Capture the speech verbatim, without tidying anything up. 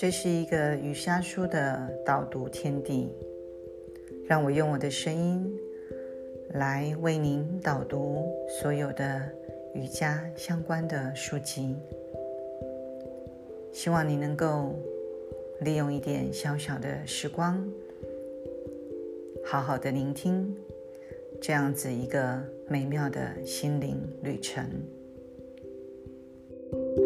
这是一个瑜伽书的导读天地，让我用我的声音来为您导读所有的瑜伽相关的书籍。希望你能够利用一点小小的时光，好好的聆听这样子一个美妙的心灵旅程。